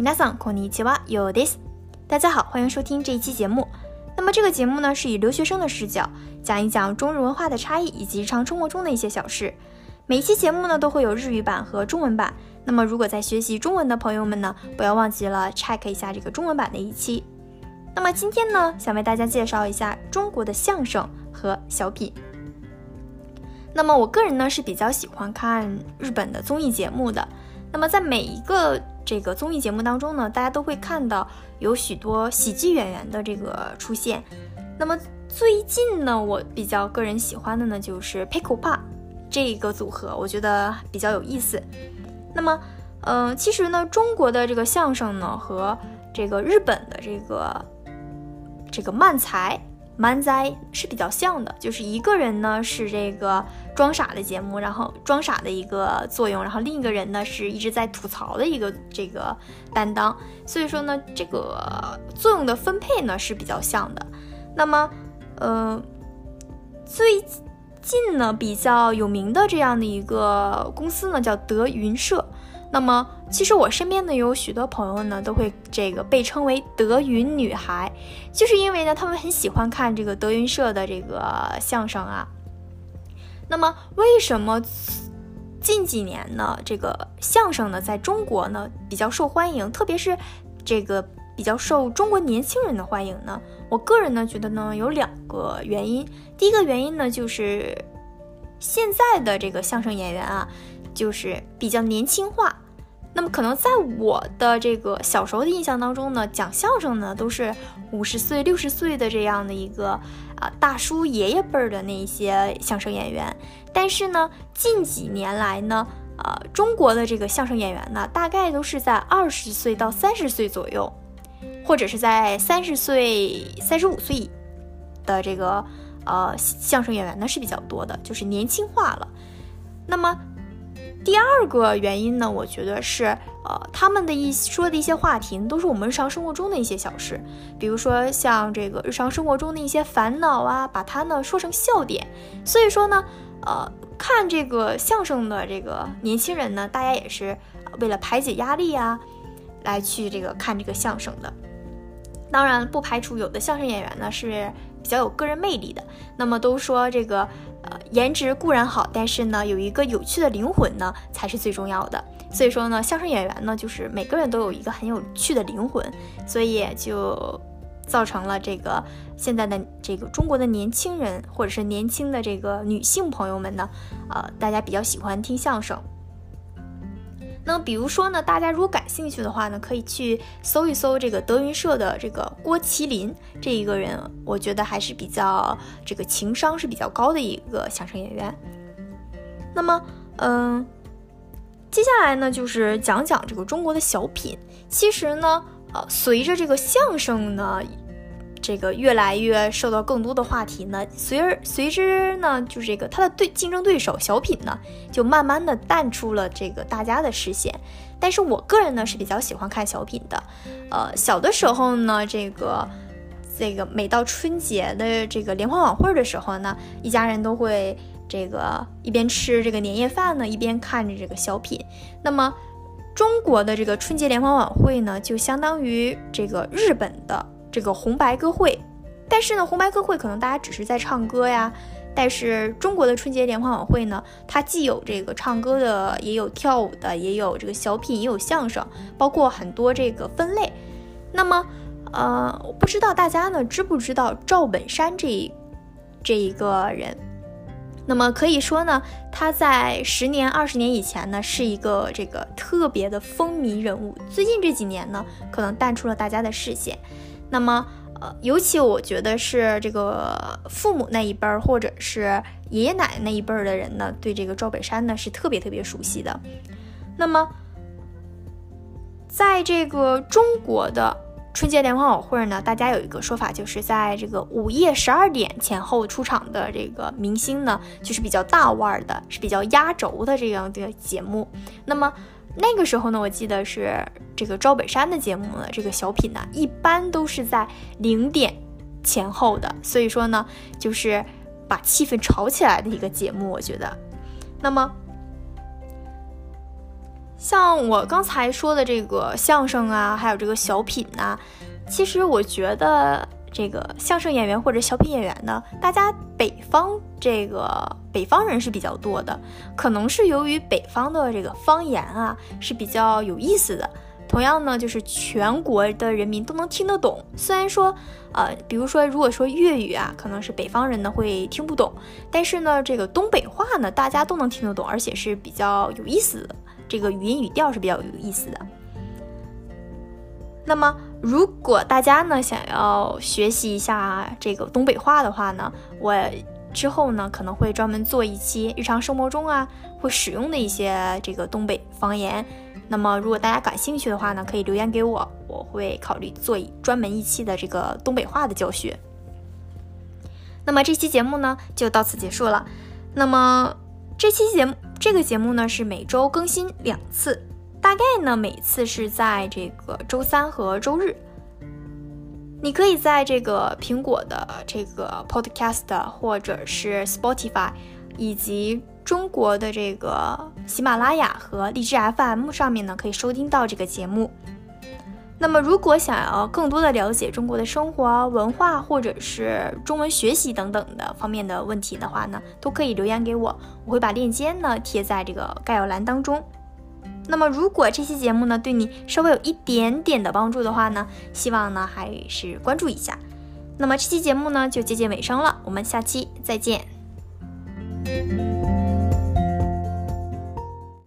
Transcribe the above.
皆さんこんにちは、ようです。大家好，欢迎收听这一期节目。那么这个节目呢，是以留学生的视角讲一讲中日文化的差异以及日常生活中的一些小事。每一期节目呢都会有日语版和中文版。那么如果在学习中文的朋友们呢，不要忘记了 check 一下这个中文版的一期。那么今天呢，想为大家介绍一下中国的相声和小品。那么我个人呢是比较喜欢看日本的综艺节目的。那么在每一个这个综艺节目当中呢，大家都会看到有许多喜剧演员的这个出现。那么最近呢，我比较个人喜欢的呢就是ぺこぱ这个组合，我觉得比较有意思。那么其实呢，中国的这个相声呢和这个日本的这个漫才是比较像的，就是一个人呢是这个装傻的节目，然后装傻的一个作用，然后另一个人呢是一直在吐槽的一个这个担当，所以说呢这个作用的分配呢是比较像的。那么最近呢比较有名的这样的一个公司呢叫德云社。那么其实我身边呢有许多朋友呢都会这个被称为德云女孩，就是因为呢他们很喜欢看这个德云社的这个相声啊。那么为什么近几年呢这个相声呢在中国呢比较受欢迎，特别是这个比较受中国年轻人的欢迎呢？我个人呢觉得呢有两个原因。第一个原因呢就是现在的这个相声演员啊就是比较年轻化。那么可能在我的这个小时候的印象当中呢，讲相声呢都是50岁60岁的这样的一个大叔爷爷辈儿的那一些相声演员。但是呢近几年来呢中国的这个相声演员呢大概都是在20岁到30岁左右，或者是在30岁35岁的这个相声演员呢是比较多的，就是年轻化了。那么第二个原因呢，我觉得是他们的说的一些话题都是我们日常生活中的一些小事，比如说像这个日常生活中的一些烦恼啊，把它呢说成笑点。所以说呢看这个相声的这个年轻人呢，大家也是为了排解压力啊来去这个看这个相声的。当然不排除有的相声演员呢是比较有个人魅力的。那么都说这个颜值固然好，但是呢有一个有趣的灵魂呢才是最重要的。所以说呢相声演员呢就是每个人都有一个很有趣的灵魂，所以也就造成了这个现在的这个中国的年轻人或者是年轻的这个女性朋友们呢大家比较喜欢听相声。那么比如说呢，大家如果感兴趣的话呢，可以去搜一搜这个德云社的这个郭麒麟这一个人，我觉得还是比较这个情商是比较高的一个相声演员。那么接下来呢就是讲讲这个中国的小品。其实呢随着这个相声呢这个越来越受到更多的话题呢，随之呢就是这个他的竞争对手小品呢就慢慢的淡出了这个大家的视线。但是我个人呢是比较喜欢看小品的。小的时候呢这个每到春节的这个联欢晚会的时候呢，一家人都会这个一边吃这个年夜饭呢，一边看着这个小品。那么中国的这个春节联欢晚会呢就相当于这个日本的这个红白歌会。但是呢红白歌会可能大家只是在唱歌呀，但是中国的春节联欢晚会呢，它既有这个唱歌的，也有跳舞的，也有这个小品，也有相声，包括很多这个分类。那么我不知道大家呢知不知道赵本山这一个人。那么可以说呢，他在10年20年以前呢是一个这个特别的风靡人物，最近这几年呢可能淡出了大家的视线。那么尤其我觉得是这个父母那一辈儿或者是爷爷奶奶那一辈儿的人呢，对这个赵本山呢是特别特别熟悉的。那么在这个中国的春节联欢晚会呢，大家有一个说法，就是在这个午夜12点前后出场的这个明星呢，就是比较大腕的，是比较压轴的这样的节目。那么那个时候呢，我记得是这个赵本山的节目呢，这个小品呢，一般都是在0点前后的，所以说呢，就是把气氛炒起来的一个节目，我觉得。那么像我刚才说的这个相声啊，还有这个小品啊，其实我觉得这个相声演员或者小品演员呢，大家北方人是比较多的，可能是由于北方的这个方言啊是比较有意思的，同样呢就是全国的人民都能听得懂。虽然说比如说如果说粤语啊，可能是北方人呢会听不懂，但是呢这个东北话呢大家都能听得懂，而且是比较有意思的，这个语音语调是比较有意思的。那么如果大家呢想要学习一下这个东北话的话呢，我之后呢可能会专门做一期日常生活中啊会使用的一些这个东北方言。那么如果大家感兴趣的话呢，可以留言给我，我会考虑做专门一期的这个东北话的教学。那么这期节目呢就到此结束了。那么这个节目呢是每周更新2次，大概呢每次是在这个周三和周日。你可以在这个苹果的这个 Podcast 或者是 Spotify 以及中国的这个喜马拉雅和荔枝 FM 上面呢可以收听到这个节目。那么如果想要更多的了解中国的生活文化或者是中文学习等等的方面的问题的话呢，都可以留言给我，我会把链接呢贴在这个概要栏当中。那么如果这期节目呢对你稍微有一点点的帮助的话呢，希望呢还是关注一下。那么这期节目呢就接近尾声了，我们下期再见。